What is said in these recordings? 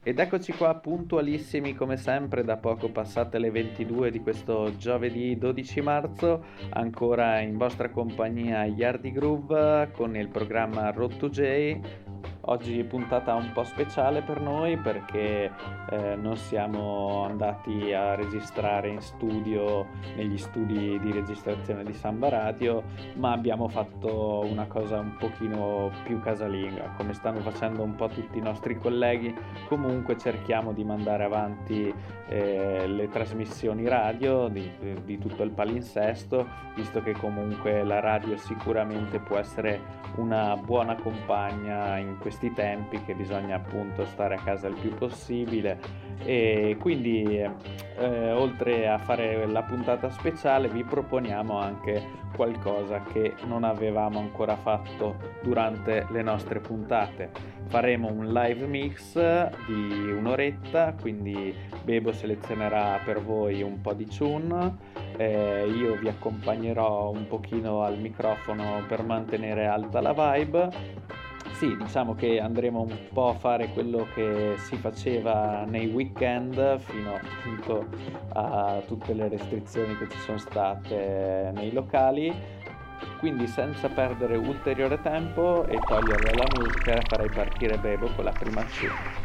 Ed eccoci qua puntualissimi come sempre, da poco passate le 22 di questo giovedì 12 marzo, ancora in vostra compagnia Yardi Groove con il programma Road to J. Oggi puntata un po' speciale per noi perché non siamo andati a registrare in studio, negli studi di registrazione di Samba Radio, ma abbiamo fatto una cosa un pochino più casalinga, come stanno facendo un po' tutti i nostri colleghi. Comunque cerchiamo di mandare avanti le trasmissioni radio di tutto il palinsesto, visto che comunque la radio sicuramente può essere una buona compagna in questi tempi che bisogna appunto stare a casa il più possibile. E quindi oltre a fare la puntata speciale vi proponiamo anche qualcosa che non avevamo ancora fatto durante le nostre puntate. Faremo un live mix di un'oretta, quindi Bebo selezionerà per voi un po' di tune, io vi accompagnerò un pochino al microfono per mantenere alta la vibe. Sì, diciamo che andremo un po' a fare quello che si faceva nei weekend fino appunto a tutte le restrizioni che ci sono state nei locali. Quindi senza perdere ulteriore tempo e togliere la musica farei partire Bebo con la prima tune.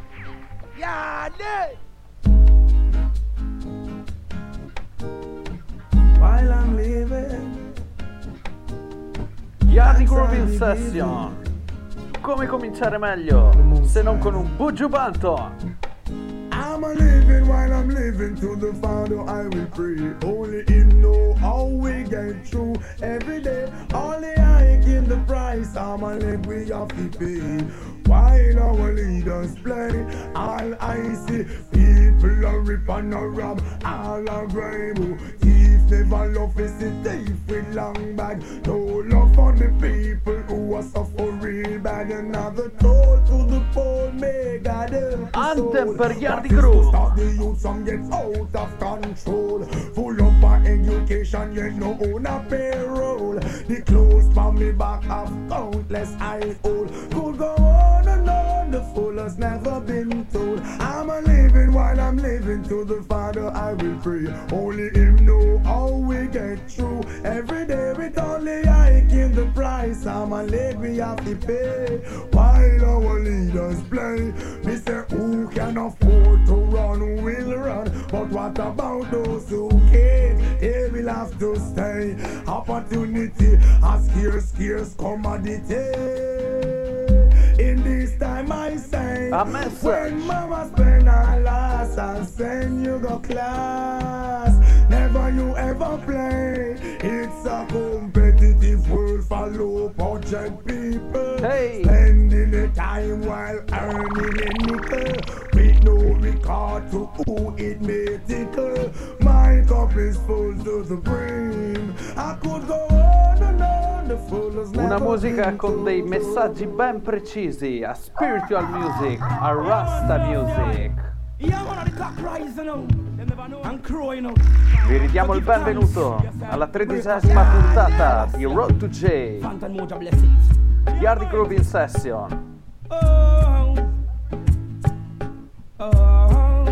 While I'm living, Yardi Groove in Session. Come cominciare meglio se non con un Buju Banton? I'm a living while I'm living, to the Father I will pray. Only Him know how we get through every day. Only I give the price, I'm a live we have to pay. While our leaders play, all I see people are rip and a rob, all are grime. Thief never love is a thief with long bag. No love for the people who are suffer real bad. Another toll to the poor, may God help us all. Anthem per Yardi Groove. Stop the youth some get out of control. Full up our education, yet no own a payroll. The clothes from me back have countless I old. Could go on and on, the fool has never been told. I'm a living while I'm living, to the Father I will pray. Only Him know how we get through every day with only I give the price. I'm a live we have to pay. While our leaders play, me say who can afford to run will run, but what about those who can't? They will have to stay. Opportunity a scarce commodity. In this time I say, A message. when mama spend her last and send you go class, never you ever play. It's a competitive world for low budget people. Hey. Spending the time while earning a nickel, with no regard to who it may tickle. My cup is full to the brim. I could go on and on, the full has Una never musica been con dei told. messaggi ben precisi, a spiritual music, a rasta music. Yeah, man, the cock rising now. And crowing now. Vi ridiamo il benvenuto alla 13ª puntata di Road to J, Phantom Moja bless it. Yardi Groove in Session. Oh, oh,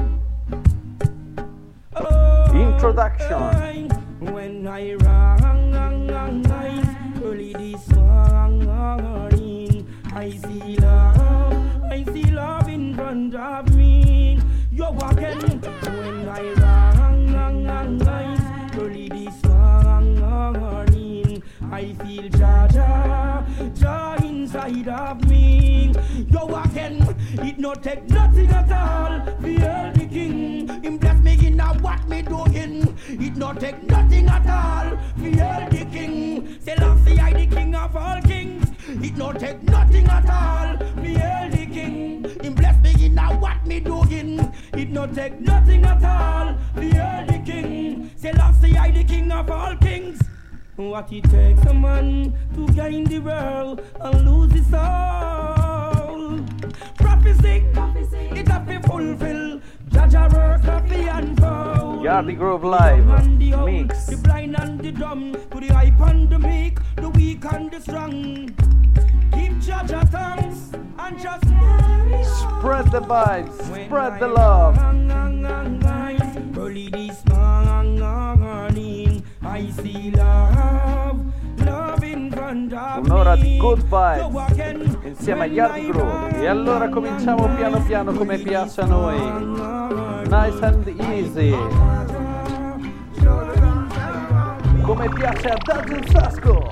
oh. Introduction. When I rang early this morning, I see love in front of me. You're walking when I rang early this morning, I feel joy inside of me. You're walking, it no take nothing at all. Feel the king, him bless me in a what me doing. It no take nothing at all. Feel the king, Selassie I the king of all kings. It no take nothing at all. Feel the king, him bless me in a what me doing. It no take nothing at all. Feel the king, Selassie I the king of all kings. What it takes a man to gain the world and lose his soul. Prophecy, it have to fulfill. Jaja work of the unfold. Yardi Groove Live And the old, Mix. the blind and the dumb, to the hype and the meek, the weak and the strong. Keep Jaja thanks and just Spread the vibes, spread the love. Early this morning, I see love, love in front of Un'ora di me. good vibes insieme agli Yardi Groove. E allora cominciamo piano piano come piace a noi. Nice and easy. Come piace a Dajun Sasco.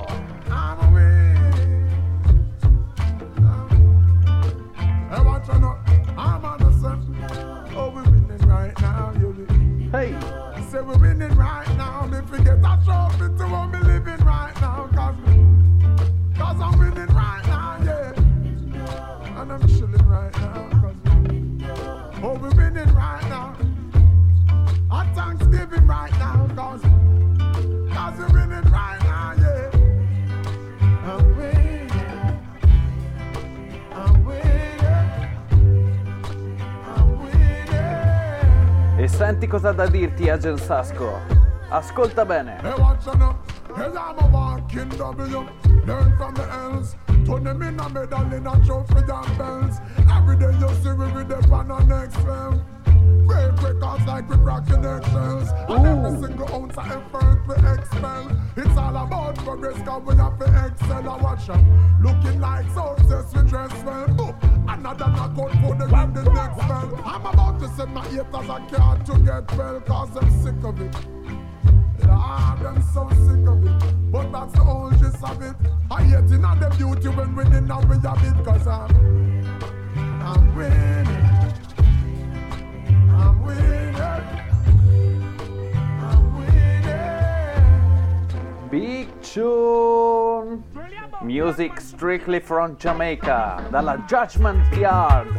Hey! Say we're winning right now. If we get a trophy to what we living right now. Cause I'm winning right now, yeah. And I'm chilling right now. Cause we're winning right now. Our Thanksgiving right now. Cause we're winning right now, yeah. I'm winning. I'm winning. I'm winning. E senti cosa ha da dirti Agent Sasco. Ascolta bene. Hey, watch out now. Hey, I'm a walking W. Learn from the L's. Turn them in a medal in a trophy and bells. Every day you see we with the pan on next film. Break records like we cracking eggshells. And every single ounce of effort we expel. It's all about progress cause we have to excel. I watch out. Looking like success we dress well. Boop. Another knockout for the win the next spell. I'm about to send my haters a card to get well. Cause I'm sick of it. Lord, I'm so sick of it. But that's the whole gist of it. I hate in the beauty when winning now we have it. Cause I'm winning. I'm winning. I'm winning. Big tune. Music strictly from Jamaica. Dalla Judgment Yard.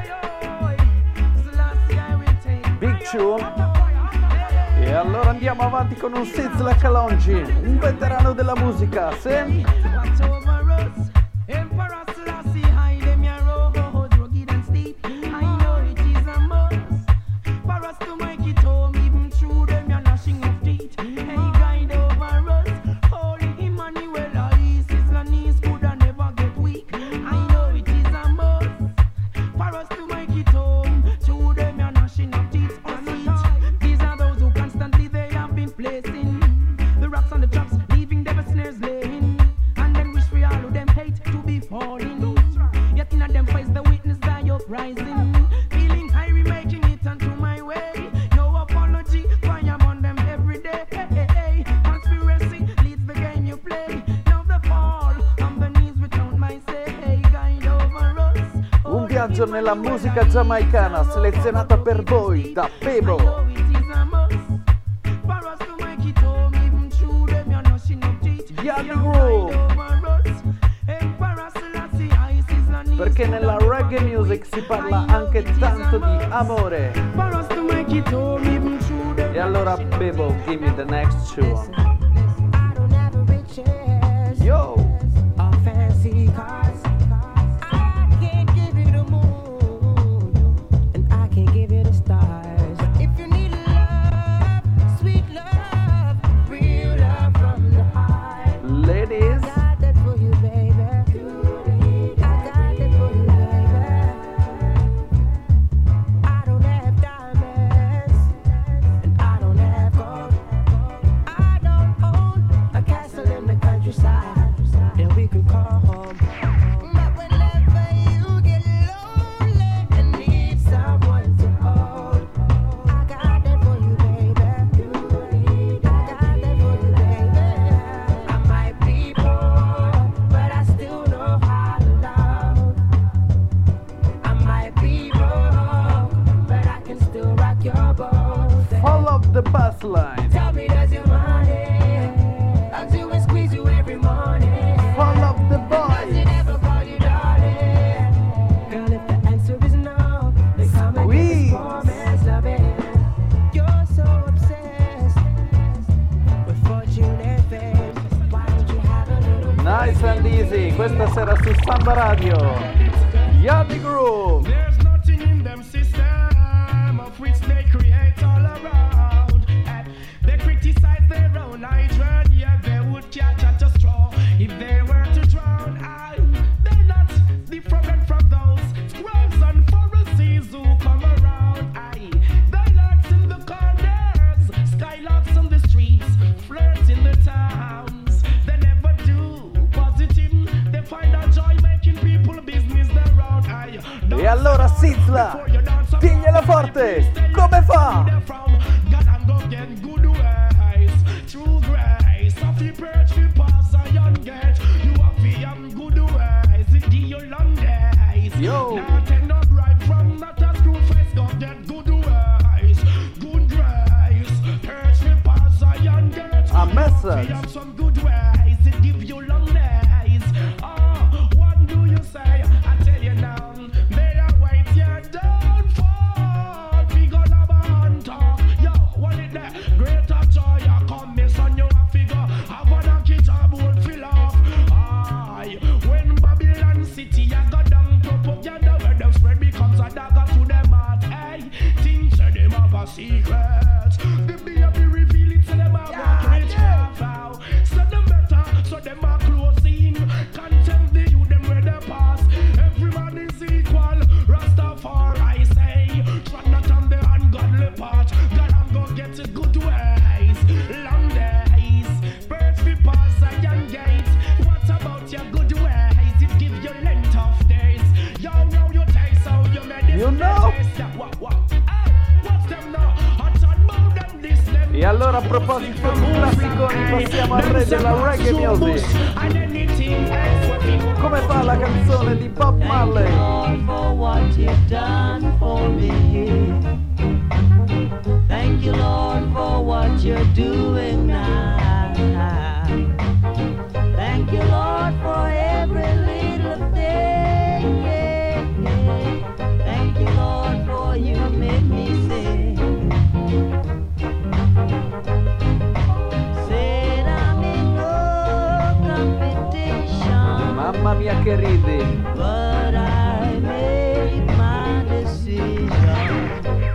Big tune. E allora andiamo avanti con un Sizzla Kalonji, un veterano della musica, sì? Nella musica giamaicana selezionata per voi da Bebo. Yardi Groove. Perché nella reggae music si parla anche tanto di amore. E allora Bebo, give me the next tune. Yo! Questa sera su Samba Radio, Yardi Groove. There's nothing in them system of which they create all around. They criticize their own idea, yeah, they would catch at a straw if they were to drown. They're not forte, come fa? Yo! A message. Secrets, the baby reveal it to them about rich vow. So them better, so them are closing. Contempt the youth, them where they pass. Every man is equal. Rastafari say, tread not on the ungodly path. God I'm gonna get it good ways, long days. Birds be pass Zion gate. What about your good ways? It give you length of days. Yo, now you taste how you made this. You know? What? E allora a proposito di classiconi passiamo al re della reggae music. Come fa la canzone di Bob Marley? Thank you Lord for what you're doing now. Thank you Lord for every little thing. Thank you Lord for you made me sing. Mamma mia che ridi. But I made my decision.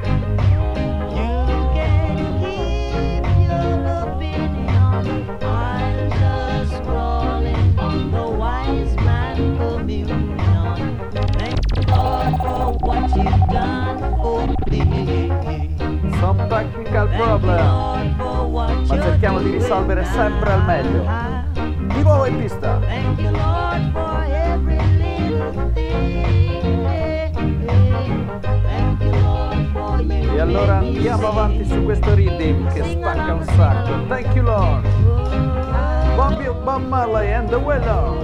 You can keep your opinion. I'm just crawling on the wise man communion. Thank you Lord for what you've done for me. Some technical problem, ma cerchiamo di risolvere sempre al meglio. Di nuovo in pista. Thank you Lord for every little thing. Thank you Lord for you. E allora andiamo avanti su questo rhythm che spacca un sacco. Thank you Lord. Bob Marley and the Willow.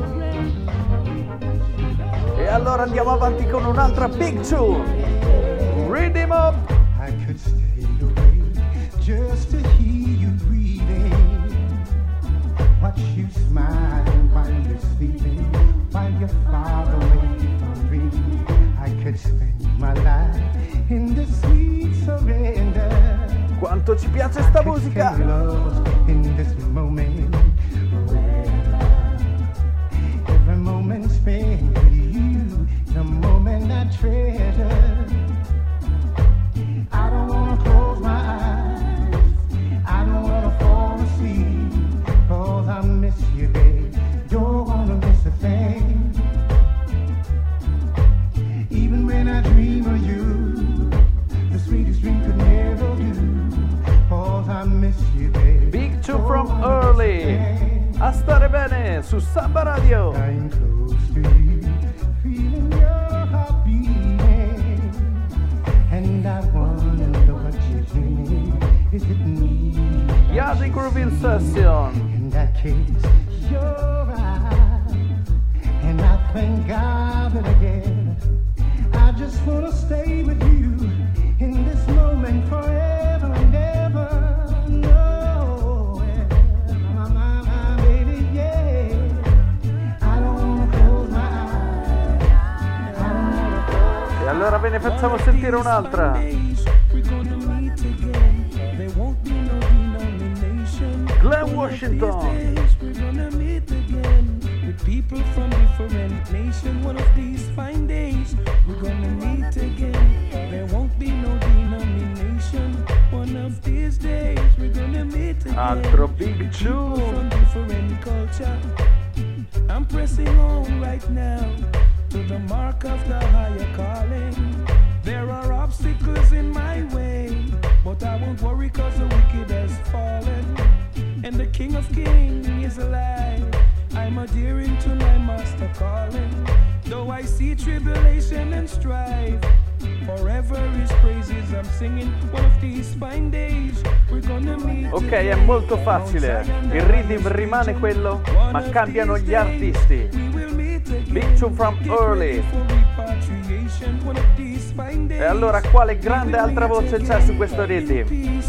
E allora andiamo avanti con un'altra big tune. Rhythm up. I could stay away just to hear you breathing. Watch you smiling while you're sleeping, while you're far away from dreaming. I could spend my life in the sweet surrender. Quanto ci piace sta musica! In this moment, every moment spent with you, the moment I treasure. I don't wanna close my eyes, I don't wanna fall asleep, 'cause I miss you, babe. You're gonna miss a thing. Even when I dream of you, the sweetest dream could never do, 'cause I miss you, babe. Big Two from Early. A stare bene su Samba Radio. I'm close to you, feeling your heart beating, and I wonder what you're dreaming. Is it me? Yardi Groove in Session. In that case, you're right, and I thank God that again I just wanna stay with you in this moment forever and ever. No, my baby, yeah. I don't wanna close my eyes. I don't wanna close. E allora ve ne facciamo sentire un'altra. Glenn Washington. We're gonna meet again with people from different nations. One of these fine days, we're gonna meet again. There won't be no denomination. One of these days, we're gonna meet again. Altro Big Two. From different culture. I'm pressing on right now to the mark of the higher calling. There are obstacles in my way, but I won't worry 'cause the wicked has fallen. And the King of Kings is alive. I'm adhering to my master calling. Though I see tribulation and strife, forever His praise I'm singing. One of these fine days we're gonna meet. Ok, è molto facile. Il rhythm rimane quello, ma cambiano gli artisti. Big Tune from Early. E allora quale grande altra voce c'è su questo rhythm?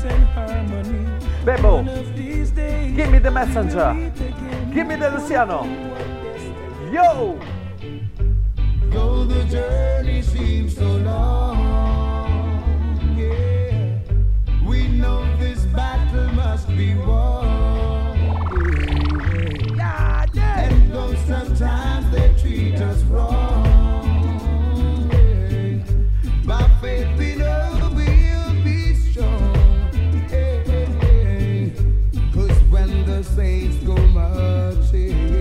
Bebo, give me the messenger. Give me the Luciano. Yo! Though the journey seems so long, yeah, we know this battle must be won. Yeah, yeah. And though sometimes they treat us wrong, yeah, by faith we know we'll be strong. Yeah, yeah. 'Cause when the saints go marching,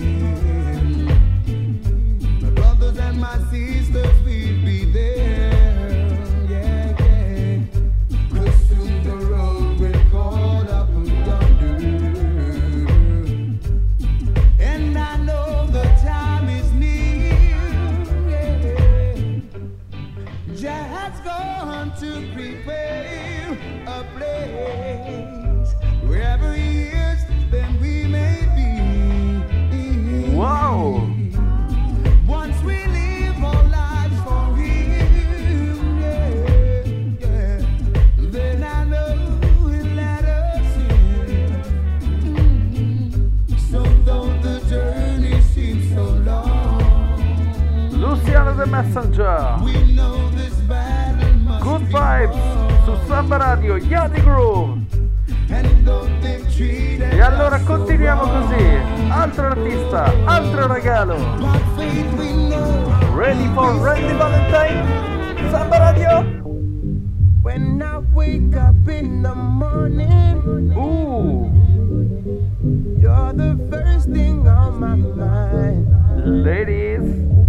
and my sisters will be there, yeah, yeah. 'Cause soon the road will call up yonder, and I know the time is near, yeah. Just gone to prepare a place wherever he is, then we may be. Wow! Once we live our lives for him, yeah, yeah, then I know he'll let us in. So though the journey seems so long, Luciano the Messenger. we know this battle must Good be vibes su won. Samba Radio, Yardi Groove. And though they've treated E allora us so continuiamo wrong, così. Altro artista, altro regalo. by faith we know. Ready for Randy Valentine? Samba Radio? When I wake up in the morning, you're the first thing on my mind. Ladies.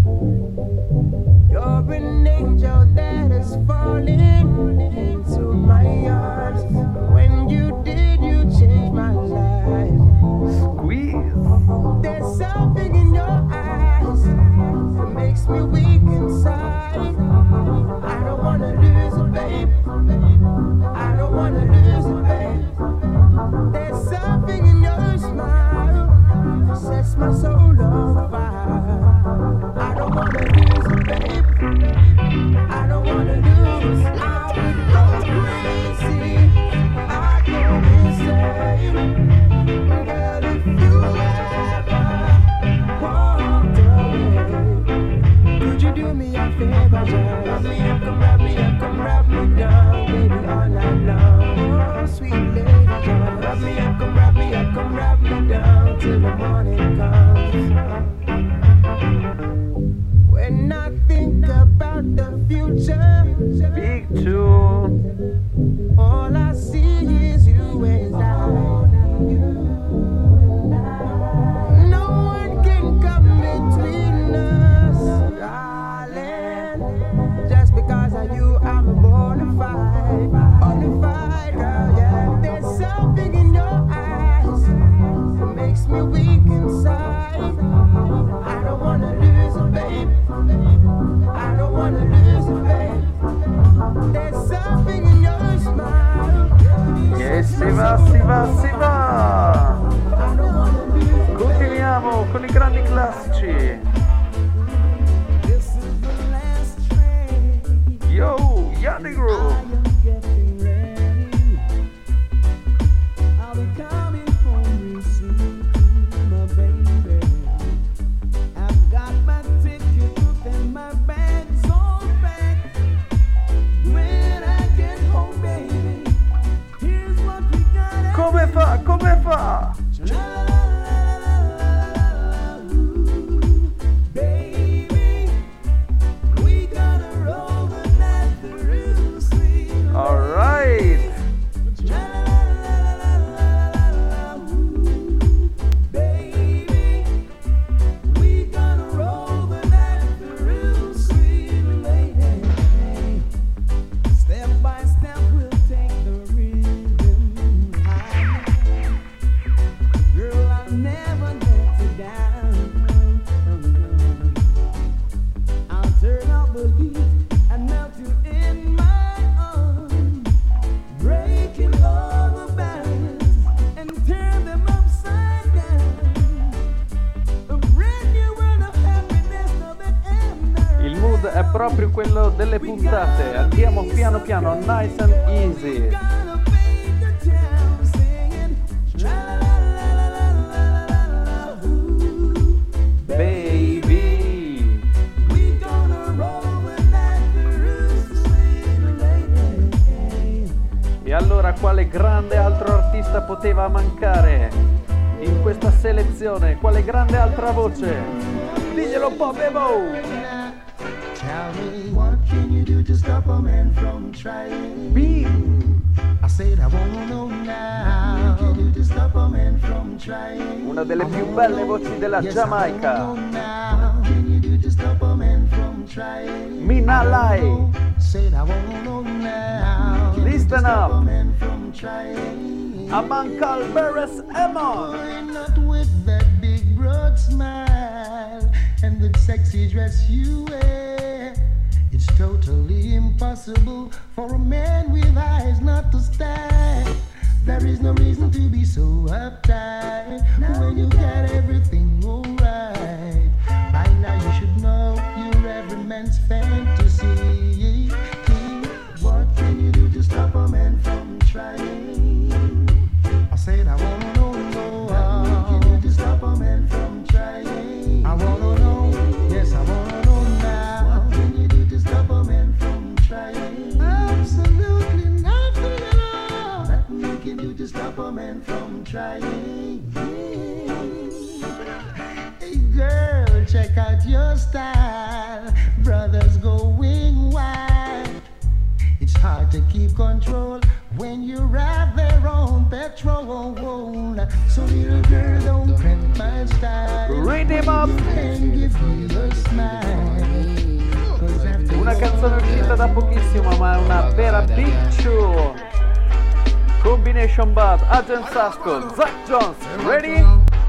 You're an angel that is falling into my arms. When you did, you changed my life. Squeeze. There's something in your eyes that makes me weak inside. I don't wanna lose it, babe. I don't wanna lose it, babe. There's something in your smile that sets my soul on fire. I don't wanna lose it, babe. I don't wanna lose. I would go crazy. I'd go insane. Girl, if you ever walked away, could you do me a favor? Just wrap me up, come wrap me up, come wrap me down, baby, all night long. Oh, sweet lady, just wrap me up, come wrap me up, come wrap me down till the morning comes. When I think about the future, Big Tune. all I see is you and I. No one can come between us, darling. Just because of you, I'm a bona fide girl, yeah. There's something in your eyes that makes me weak inside. I don't wanna lose it, babe. I don't wanna lose it, babe. There's something in your smile. E si va, si va, si va. I don't wanna lose it. Continuiamo con i grandi classici. This is the last train. Yo, Yardi Groove. I am getting ready. I'll be coming home real soon to my baby. I've got my ticket booked and my bag's all packed. When I get home, baby, here's what we gotta Come fa? Come fa? baby, we gotta roll the night through. quello delle puntate. Andiamo piano piano, nice and easy. Baby. E allora quale grande altro artista poteva mancare in questa selezione? Quale grande altra voce? Diglielo un po', Bebo! Tell me, what can you do to stop a man from trying? I said I wanna know now. What can you do to stop a man from trying? Una delle più belle voci della Giamaica. What can you do to stop a man from trying? Mina Lai. Said I wanna know now. Listen up. Stop a man from trying. Amankal Beres Emon. Why not with that big broad smile and that sexy dress you wear? It's totally impossible for a man with eyes not to stare. There is no reason to be so uptight when you got everything alright. By now you should know you're every man's fantasy. What can you do to stop a man from trying? I said I wanna know. What can you do to stop a man from trying? I wanna know. Yes, I wanna know now. What can you do to stop a man from trying? Absolutely nothing at all. Nothing you can do to stop a man from trying. Hey girl, check out your style. Brothers going wild. It's hard to keep control when you're out there on petrol. So little girl, don't cramp my style. Read him up. And give me a smile. 'Cause after Una canzone uscita da pochissimo, ma è una vera picciu. Combination Bad, Agent Sasco, Zach Jones, ready?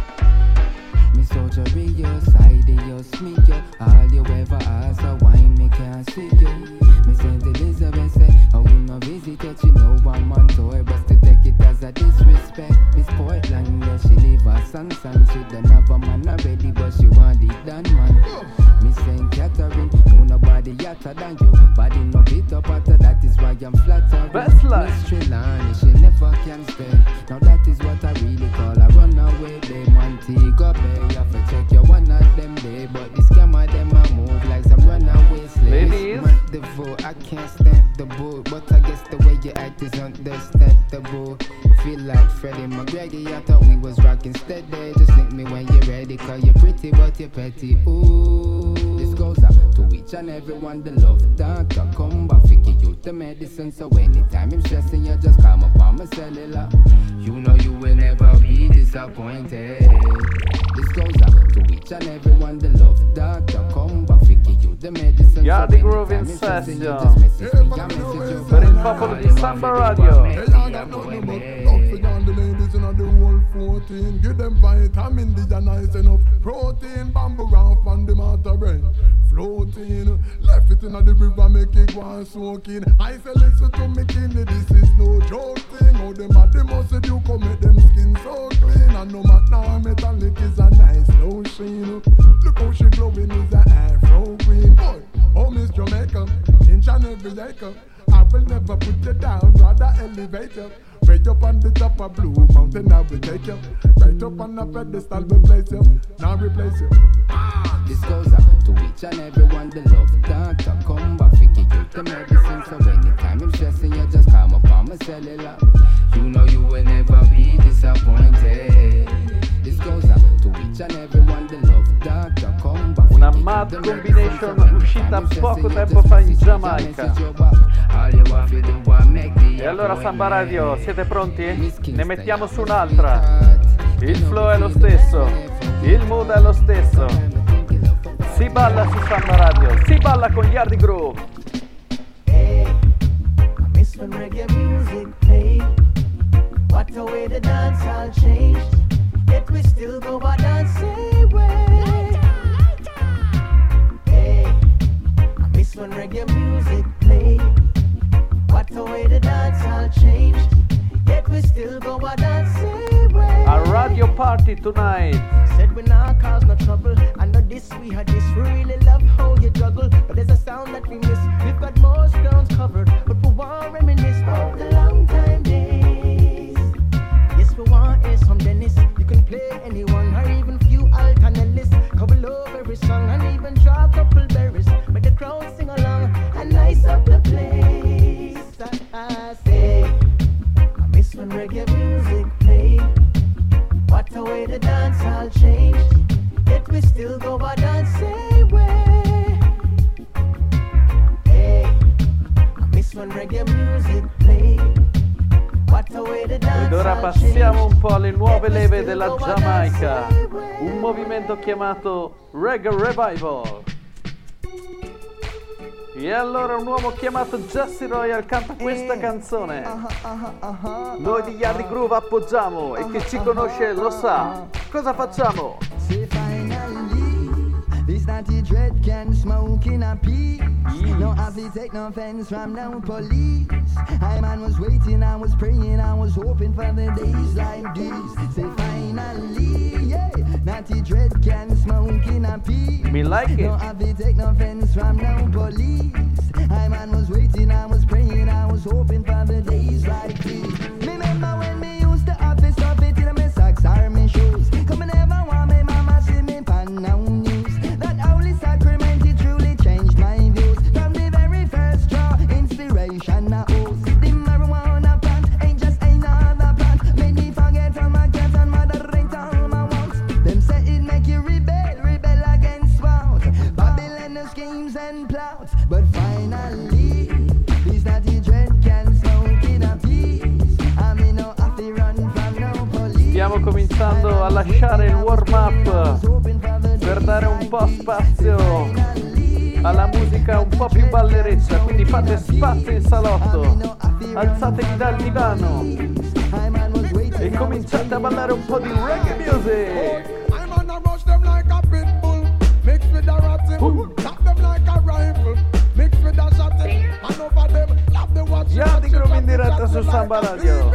Me soldier your side of your sneaker. All you ever ask a why me can't see you. Me Saint Elizabeth say, oh you no visit it, you know one man toy, but to take it as a disrespect. Miss Portland, yeah, she leave her son, she don't have a man already, but she want it done, man. Miss Saint Catherine, no nobody yatter than you. Body no beat up after that is why I'm flattered. Best line. Miss Trelawney, she never can stay. Now that is what I really call a runaway day. Montego Bay, you have to check your one of them day, but this scammer them a move like some runaway slaves. Ladies. The vote, I can't stand the boat, but I guess the way you act is understandable. Feel like Freddie McGregor, I thought we was rocking steady. Just link me when you're ready, cause you're pretty but you're petty. Ooh, this goes out to each and everyone, the love doctor. Come back, figure you the medicine, so anytime I'm stressing, you just come up on my cellular. You know you will never be disappointed. This goes out to each and everyone, the love doctor. Come back, figure you the medicine. Yardi Groove in session per il popolo di Samba Radio. The ladies in the whole 14, give them vitamin D and nice enough protein. Bamboo round on the matter brain floating. Left it in the river, make it go and soaking. I say listen to me, Kenny, this is no joke thing. How them at the muscle you come make them skin so clean. And no matter how metallic is a nice lotion. Look how she glowing is a Afro queen. Boy, home is Jamaica, inch and every acre. I will never put you down, rather elevate you. Way up on the top of Blue Mountain, I will take you. Right up on the pedestal, we place you. Now replace you. This goes out to each and everyone, the love doctor. Come back, figure you the medicine. So anytime I'm stressing, you just come up on my cellular. You know you will never be disappointed. This goes out to each and everyone, the love doctor. Come back. Una mad combination uscita poco tempo fa in Giamaica. E allora Samba Radio, siete pronti? Ne mettiamo su un'altra. Il flow è lo stesso, il mood è lo stesso. Si balla su Samba Radio, si balla con Yardi Groove. Hey, I miss when reggae music played. What a way the dance all changed. Yet we still go our dancing way. Hey, I miss when reggae music played. What a way the dance all changed. Yet we still go our dancing way. A radio party tonight. Said we not cause no trouble. I know this, we had this, we really love how you juggle, but there's a sound that we miss. We've got most grounds covered, but we won't reminisce about the long time days. Yes, we want hear some Dennis. You can play anyone or even few alternate couple over every song and even draw a couple berries. Make the crowd sing along and nice up the place. I say, I miss when reggae music played. What a way the dance all changed. Yet we still go a dancing way. Hey, I miss when reggae music played. Ed ora passiamo un po' alle nuove leve della Giamaica, un movimento chiamato Reggae Revival. E allora un uomo chiamato Jesse Royal canta questa canzone. Noi di Yardi Groove appoggiamo e chi ci conosce lo sa. Cosa facciamo? This naughty dread can smoke in a peace. No have to take no offense from no police. I man was waiting, I was praying, I was hoping for the days like this. Say finally, yeah, naughty dread can smoke in a peace. Me like it. No have to take no offense from no police. I man was waiting, I was praying, I was hoping for the days like this. Remember when me used to have this stuff it in my socks or my shoes. Come and never want me mama see me pan now news. Sacrament, it truly changed my views. From the very first draw, inspiration I owe. The marijuana plant ain't just another plant. Made me forget all my cats and moderate all my wants. Them say it make you rebel against what? Babylon the schemes and plots. But finally, these naughty dread can smoke in a peace. I mean no have to run from no police. Stiamo cominciando a lasciare il warm-up per dare un po' spazio alla musica un po' più ballereccia, quindi fate spazio in salotto, alzatevi dal divano e cominciate a ballare un po' di reggae music. Yardi Groove in diretta su Samba Radio.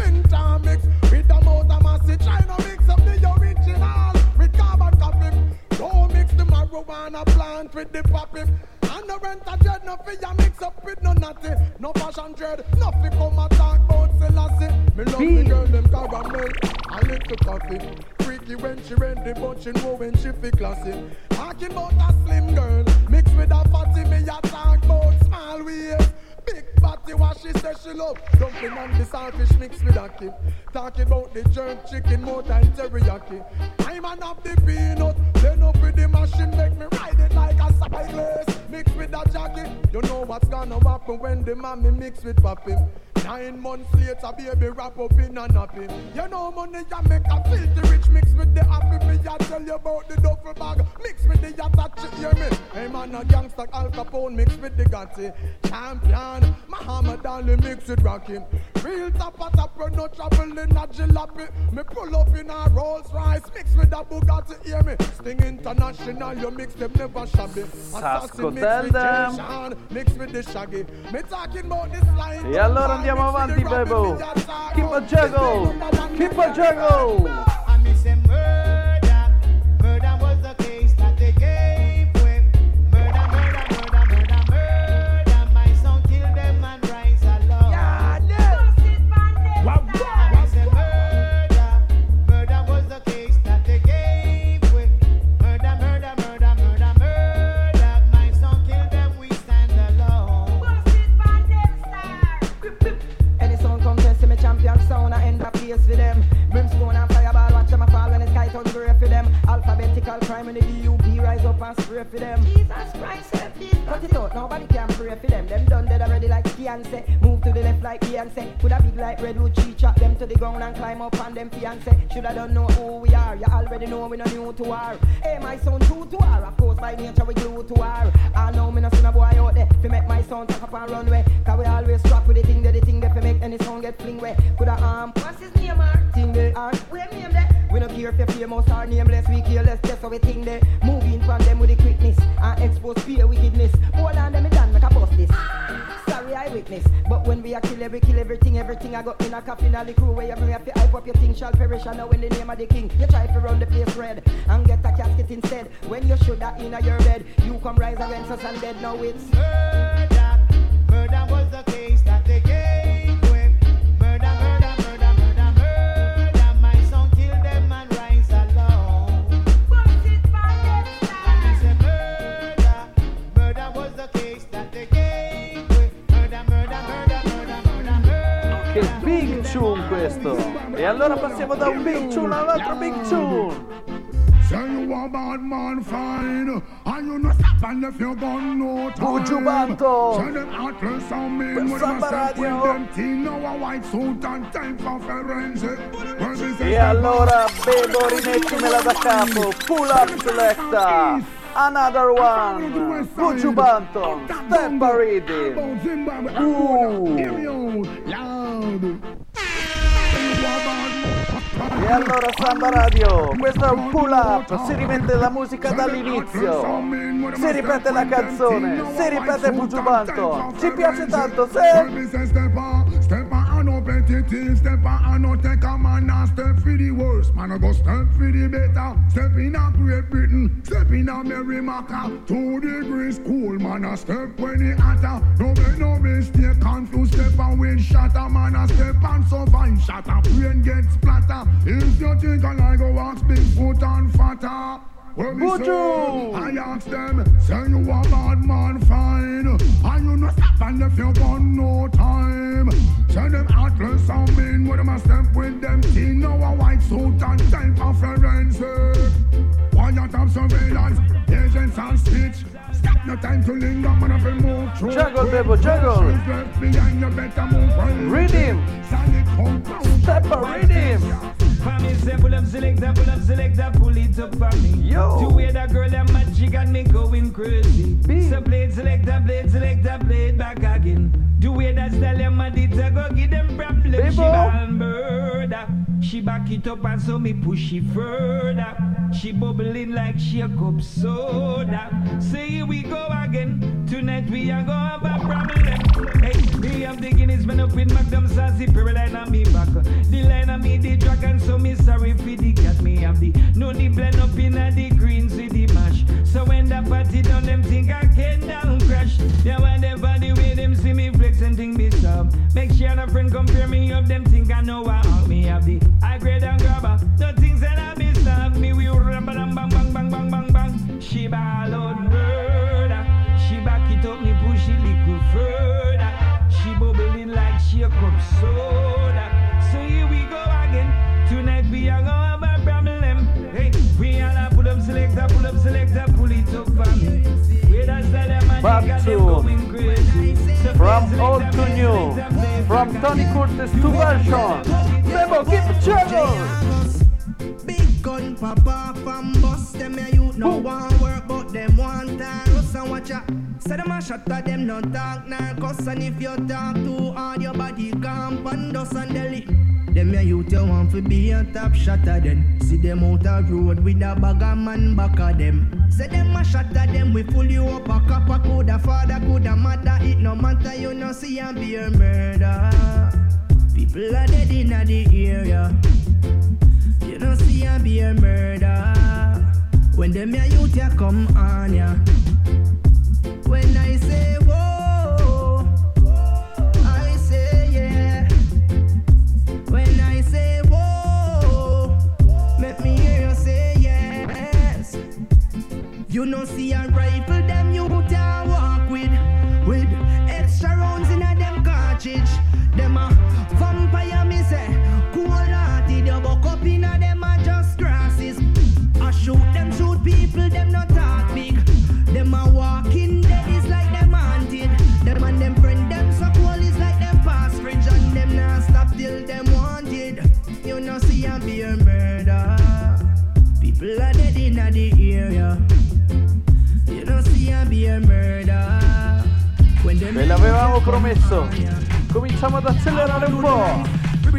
Marijuana plant with the poppy. And no rent a dread, no fear mix up with no natty. No fashion dread, nothing come and talk about Selassie. Me love the girl, them caramel, a little coffee. Freaky when she ready, but she know when she feel classy. Talking about a slim girl, mixed with a fatty. Me a talk about small waist. Big body, what she says she love. Dumpling and the saltfish mixed with a kid. Talking about the jerk chicken, more than teriyaki. I'm an up the peanut, then up with the machine, make me ride it like a cyclist. Mixed with a jacket, you know what's gonna happen when the mommy mix with papi. 9 months later, baby wrap up in a nappy. You know money ya make a filthy rich mix with the happy. Me ya tell you about the duffel bag, mix with the yatta, hear me? Hey man, a gangster Al Capone mix with the Gotti. Champion, Muhammad Ali mix with Rocky. Real top, no trouble in a jalopy. Me pull up in a Rolls Royce, mix with a Bugatti, hear me? Sting International, you mix them never shabby. Assassin mix with Jason, mix with the Shaggy. Me talking about this line. E allora andiamo avanti, Bebo. Keep a juggle, keep a juggle. I miss a murder. Murder was the case that they gave with. Murder. My son killed them and rise along. I miss a murder. Murder was the case that they gave with. Murder. My son killed them, we stand alone. Any song come test me champion sound, I end up place for them. Brimstone and fireball, watch them a fall when the sky turns grey for them. Alphabetical crime in the DUP, rise up and spray for them. Jesus Christ, help me. Cut it out, nobody can pray for them. Them done dead already like Beyonce. Move to the left like Beyonce. Put a big like redwood tree, chop them to the ground and climb up on them fiancé. Shoulda don't know who we are, you already know we no new to war. Hey, my son true to war, of course by nature we glue to war. I know me no see no boy out there, fi make my son talk up and run way. Cause we always strap with the thing that fi make any song get fling way. Coulda what's his name, thing they are, we name there. We no care if you're famous or nameless, we careless, just how we think they. Moving from them with the quickness and expose fear wickedness. Hold on them, it done make a bust this. Sorry I witness, but when we are killing kill everything I got in a coffin. All the crew where you bring up to hype up your thing shall perish. I know in the name of the king, you try to run the place red and get a casket instead. When you should have in your bed, you come rise against us and dead. Now it's murder. Murder was the case that they gave with. Murder, murder, murder, murder, murder. My son killed them and rise alone. And he said murder. Murder was the case that they gave with. Murder, murder, murder, murder, murder, murder. Che big tune questo! E allora passiamo da un big tune all'altro big tune! Say you a bad man fine, and you no stop and if you gun no time. Buju Banton! Say them heartless on me, when I step with them teen, now a white suit and time for forensic. E allora Bebo rimettimela da capo, pull up selecta, another one, Buju Banton, step a reading. E allora Samba Radio, questo è un pull up, si rimette la musica dall'inizio, si ripete la canzone, si ripete Buju Banton, ci piace tanto, Step on, no petty things, step on, no take a man and step for the worst. Man, I go step for the better. Step in a Great Britain, step in a Merrimaca. 2 degrees cool, man, I step when it hotter. No make no mistake, confused step and wind shatter. Man, I step and survive, shatter, brain get splatter. If you think I go ask Bigfoot and fatter. Buju! I ask them, say you a bad man fine, and you no stop and if you gun no time. Say them heartless and mean, with them a step with them teen, now a white suit and time for forensic. Quiet of surveillance, agents and stitch. Stop no time to linger, man, if you move through. Juggle, Bebo, juggle. Left behind, you better move right. Rhythm. Step a rhythm. Me say pull up selector, pull it up for me. Yo. To wear that girl that magic got me going crazy. So play it selector, play it back again. To wear that style of my did go give them problems. She ball murder. She back it up and so me push it further. She bubbling like shake up soda. So here we go again. Tonight we are gonna have a problem. Hey, me have the Guinness man up with Magnum Sassy, Pyroline on me back. The line on me the dragon, so me sorry for the cat. Me have the no the blend up in the greens with the mash. So when the party done, them think I can down crash. They whatever the way them see me flex and think me stop. Make sure a friend compare me up, them think I know what out. Me have the high grade and grabber. No things that I be stop me. We rumble and bang bang bang bang bang bang. She ball out murder. She back it up, me push it little further. She bubbling like shake up soda. So here we go again. Tonight we are gonna have a problem. Hey, we all a pull up selector, pull it up for me. Where that's that man got them going crazy. From old to new, from Tony Curtis to version. Bebo, keep it juggle. Big gun papa from bust them a youth no want work but them want time. Russ and watch ya. Say them a shot at them no talk nah cuss, and if you talk too hard your body camp and dust and deli. Them a youth you want to be a top shot at them. See them out a road with a bag of man back of them. Say them a shot at them, we pull you up a copper, coulda father, coulda mother. It no matter, you no see and be a murder. People are dead in the area. You no see and be a murder. When them a youth ya come on ya. When I say whoa, I say yeah. When I say whoa, make me hear you say yes. You no see a rifle them you a walk with extra rounds in a them cartridge. Them a vampire me say, cold-hearted you buck up in a them a just grasses. I shoot people, them not talk big. Them a walking dead is like them haunted. Them and them friend them so cold is like them past fridge. And them not stop till them wanted. You no see a be a murder. People are dead in the area. You no see a be a murder. Ve l'avevamo promesso. Cominciamo ad accelerare un po'.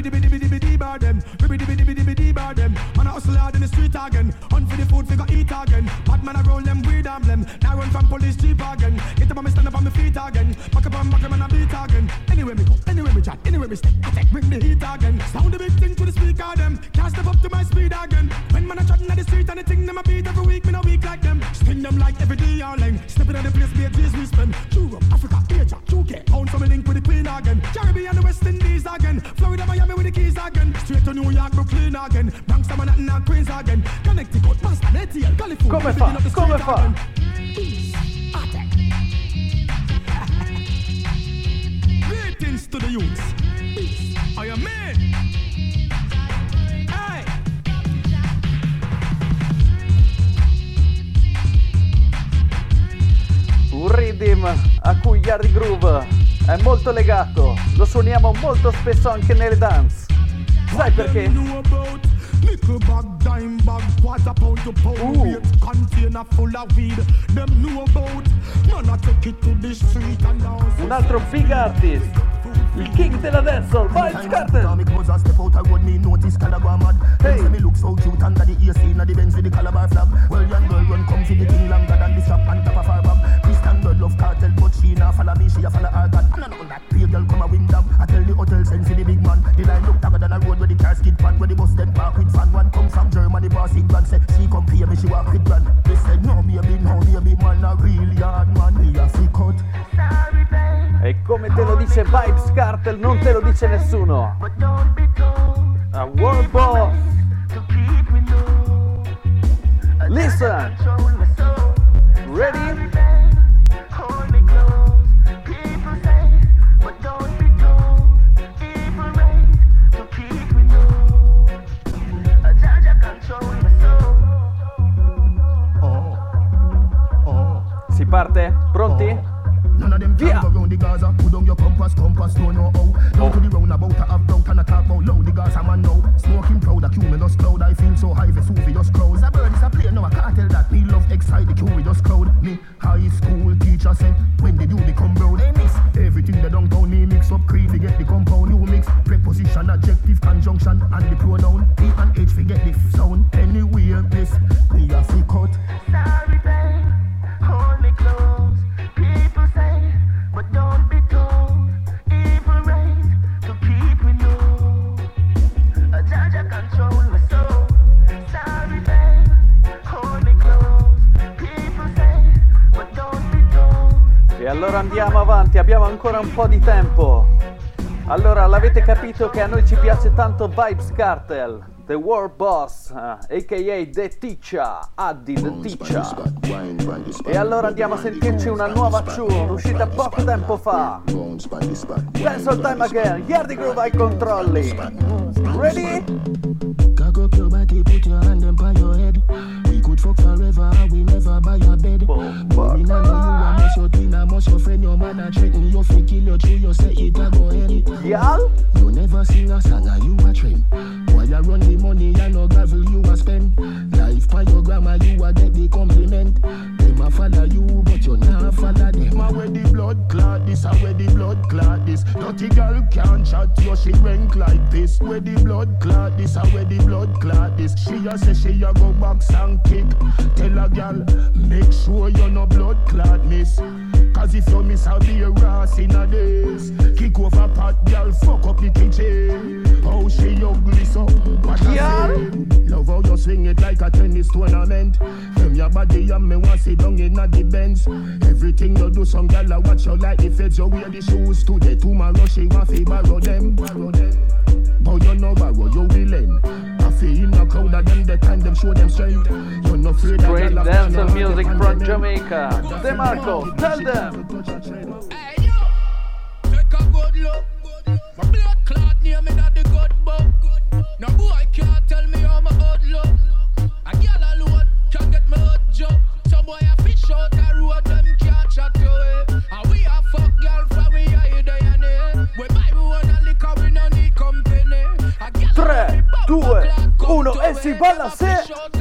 Man a hustle hard in the street again. Hunt for the food, figure eat again. Bad man a roll them, weed emblem. Now run from police jeep again. Get up on me, stand up on my feet again. Back up on back, man a beat again. Anyway me go, we chat. Anyway, we step, attack, bring the heat again. Sound the big thing to the speaker, them. Can't step up to my speed again. When man a chatting at the street and the thing them a beat every week, me no weak like them. Sting them like every day all line. Stepping at the place, be a days we spend. Europe, Africa, Asia, UK. Pound from a link with the Queen again. Caribbean, the West Indies again. Florida, Miami with the keys again. Straight to New York, Brooklyn again. Banks, Manhattan and Queens again. Connecticut, Boston, ATL, California. Come fa? Come fa? Greetings to the youths. I am man. Hey. Un rhythm a cui Yardi Groove è molto legato, lo suoniamo molto spesso anche nelle dance. Sai perché? Nickel bag, dime bag, quarter pound to pound weight, container full of weed. Them know about. Man, I take it to the street and dance. Un altro big artist, il king della dancehall, Vybz Kartel. Hey, me look so cute under the AC, na the Benz with the Calabar flag. Well, young girl run come to the thing longer than the strap on top of her bag. Christian girl love cartel, but she nah follow me, she a follow her God. And I know that pay girl come a win down. I tell the hotel send for the big man. The line look longer than a road where the car skid pan, where the bus then park with fan. One come from Germany, boss in grand, say she come pay me, she walk with grand. They said no baby, man a real yard man, me a free cut. E come te lo dice Vybz Kartel, non te lo dice nessuno. A world boss. Listen. Ready? Si parte? Pronti? None of them Via! go round the Gaza. Put down your compass, don't know how. Down to the roundabout, I have doubt and I talk about loud. The Gaza man now. Smoking proud, a cumulus cloud. I feel so high, Vesuvius crowds. A bird is a plane, no I can't tell that. Me love excite the curious crowd. Me high school teacher said, when did you become brown? They mix everything they downtown. Me mix up creed, they get the compound. You mix preposition, adjective, conjunction, and the pronoun. E and H, forget the sound. Anyway, this me a free cut. Sorry, babe, hold me close. People say, but don't be told. Evil race to keep me low. A judge control my soul. Sorry, babe, hold me close. People say, but don't be told. E allora andiamo avanti, abbiamo ancora un po' di tempo. Allora, l'avete capito che a noi ci piace tanto Vybz Kartel, The World Boss, a.k.a. The Teacher, Addy The Teacher. E allora andiamo a sentirci una nuova tune, uscita poco tempo fa. Dancehall Time Again, Yardi Groove ai controlli. Ready? Cock up your body, put your hand on your head. We could fuck forever, we never buy a bed. But we know you a must your twin, a must your friend. Your man a threaten you, fi kill you through. You say it a go ahead. Y'all? You never sing a song and you a trend. Why you run the money and no gravel you a spend? Life by your grandma you a get the compliment. Them a follow you but you not follow them. A where the blood clot this, a where the blood clot this. Dirty girl can't chat you, she rank like this. Where the blood clot this, a where the blood clot this. She a say she a go box and kick. Tell a girl make sure you no blood clot miss. Cause if you miss I'll be a ras in a days. Kick over pot girl, fuck up the kitchen. How she ugly so, what I say. Love how you swing it like a tennis tournament. From your body and me want sit down in a the Benz. Everything you do some girl I watch you like the feds. You wear the shoes today, tomorrow she want to borrow them. But you no borrow, you will end. I feel in a crowd of them, the time them show them strength. You're not afraid of Great girl dancehall music from Jamaica. DeMarco, tell them. Hey yo, take a good look. My blood clot near me that the good book. No boy can't tell me how my old look. A girl alone can get me hot job. Some boy a fish out the road, them can't chat away. And we a fuck girl from we are there and there. We buy we wanna liquor, we no need company. 3, 2, 1 e si balla se.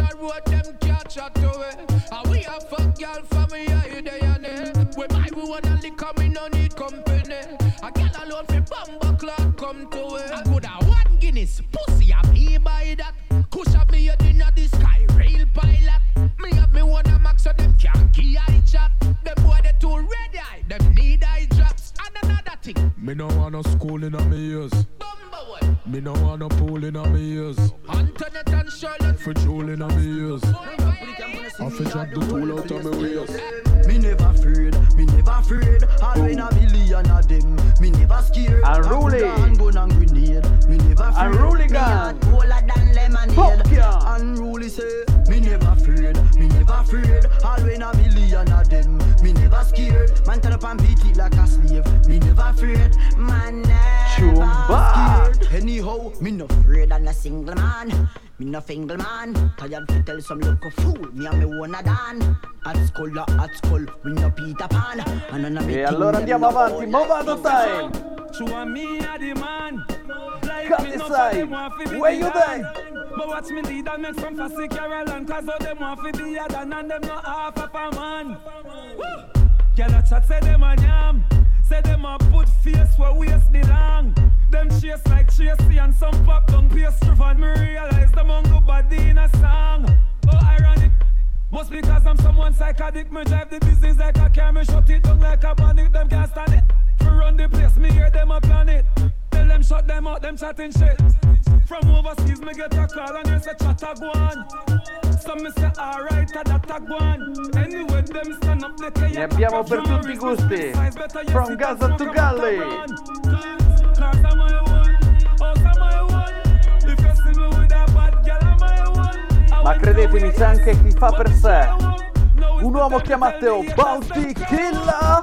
And we a fuck girl from we are there and there. We buy we wanna liquor, we no need company. A girl alone fi bumbo clock come to it. I could have 1 Guinness, pussy a me buy that. Kush up me head inna the sky, rail pilot. Me have me one a max so them can't key eye chat. Them boy they too red eye, them need eye drops. And another thing, Me no want no school in my ears. Me no want no pool in my ears. Antoinette and Charlotte. For jewel in my ears. I fi drop the tool out of my waist. Me never afraid. Always a billion of them. Me never scared. Unruly. Gun and grenade. Me never afraid. Unruly gun. Cooler than lemonade. Popcorn. Unruly say. Me never afraid. Always a billion of them. Me never scared. Man turn up and beat it like a slave. Me never afraid. Man never scared. Anyhow, me no afraid than a single man. Me no fingle man. Tired to tell some local fool. Me and me wanna dan. At school, we no Peter Pan. E allora andiamo avanti, Movado time. Countryside, where you there? But watch me lead and make some fussy Caroline. Cause all them want to be other than them not half of a man. Girl a chat say them a yam. Say them a put face where waist belong. Them chase like Tracy and some pop down pastry. And me realize them on go body in a song. Oh ironic. Must because I'm someone psychotic. Me drive the business like a car. Me shut it down like a bandit. Them can't stand it. To run the place me hear them a plan it. Tell them shut them out, them chatting shit. From overseas me get a call and they say chatta go on. Some me say alright a that a go on. Anyway them stand up they can. Ne abbiamo per tutti i gusti. From Gaza to Galley. Ma credetemi c'è anche chi fa per sé. Un uomo chiamato Bounty Killer.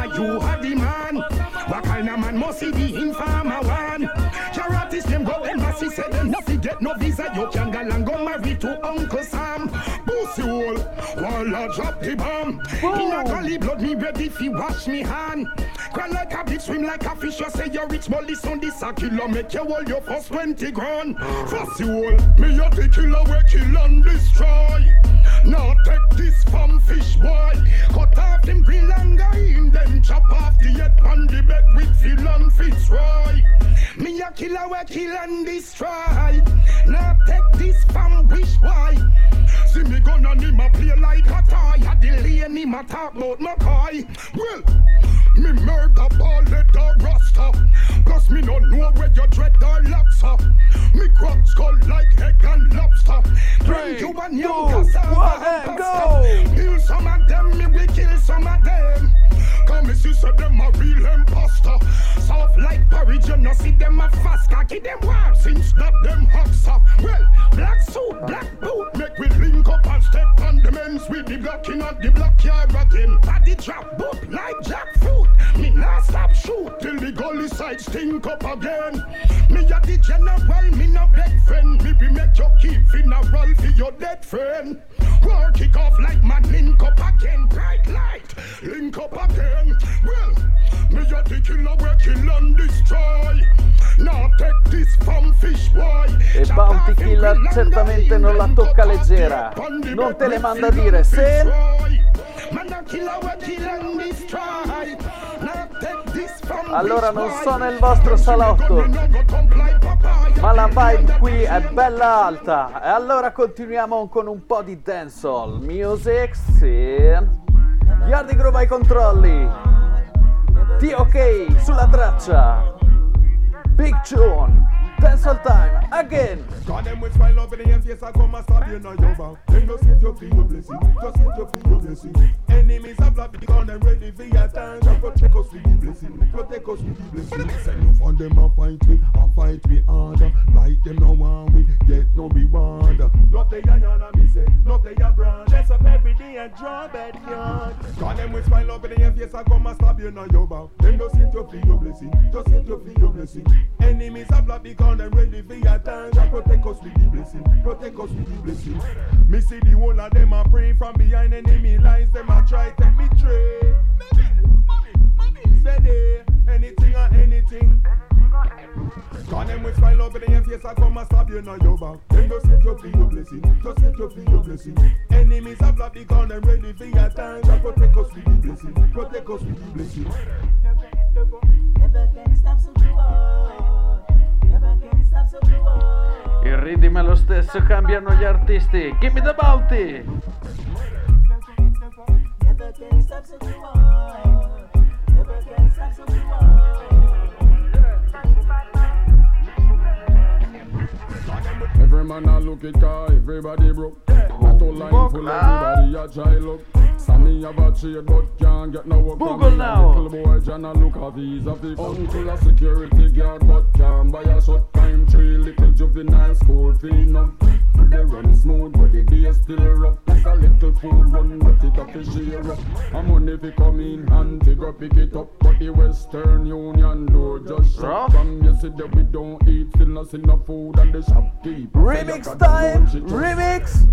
What kind of man must he be in farmer one? Charities them go embassy say them nothing get no visa. You can go and go marry to Uncle Sam. Pussy hole, while I drop the bomb. In a gully blood me ready fi wash me hand. Cry like a bitch, swim like a fish. You say you're rich, but listen this a killer make you hold your first 20 grand. Pussy hole, me a the killer we kill and destroy. Now take this from fish boy. Cut off him grill and go in. Then chop off the head on the bed with Phil and Fitzroy. Me a killer we kill and destroy. Now take this from wish boy. See me gun and him a play like a toy. A delay and him a talk about McCoy. Well, me murder ball leather rasta. Plus me no know where your dread or locks up. Me crack skull like egg and lobster. Bring you a new cassava and pasta. Kill some of them, me we kill some of them. Come me see say them a real imposter. Soft like porridge, you no see them a fast. Cocky them warm since that them hot stuff. Well, black suit, black boot, make we link up and step on the men's with the blocking at the block yard again. Body drop, boop like jackfruit. Me nah stop shoot till the gully side stink up again. Me a the general, me no beg friend. Me be make you keep funeral for your dead friend. War kick off like man link up again. Bright light, link up again. Well, me a the killer we kill and destroy. Now take this from fish boy. E Bounty Killer certamente non la tocca leggera. Non te le manda a dire se. Allora non so nel vostro salotto, ma la vibe qui è bella alta. E allora continuiamo con un po' di dancehall music. Sì. Yardi Groove ai controlli. TOK sulla traccia. Big tune. Dancehall time again. God them with smile up in your face, I come and stab you now your back. Then just hit your feel your blessing, just hit your feel your blessing. Enemies are black because them ready for your time. Protect us with the blessing, protect us with the blessing. Send you for them and fight we harder. Like them no one we get no reward. Not the yana me say, not the ya brand. Dress up every day and draw bed yard. God them with smile up in your face, I come and stab you now your back. Then just hit your feel your blessing, just hit your feel your blessing. Enemies are black because them ready for your time. Protect us with the blessing, protect us with the blessing. Me see the whole of them a pray from behind enemy lines. Them a try take me trade. Steady, anything or anything. Cause them with smile up in your face, I come and stab you now your back. Then just hit your feel your blessing, just hit your feel your blessing. Enemies are black because them ready for your time. Protect us with the blessing, protect us with the blessing. Never can stop so Il ritmo è lo stesso, cambiano gli artisti. Give me the Bounty. look it car, everybody broke. Not all line full, everybody a try look. Sammy have a trade but can't get no work. Google now. Little boy Jana look a visa fi uncle a security guard but can't buy a short time tree. Little juvenile school fee no. They run smooth but the day still rough. Like a little food run but it a fi share up. A money fi come in hand fi go pick it up. But the Western Union door just shut. From yesterday we don't eat, still not see no food and the shopkeep. Remix time! Remix!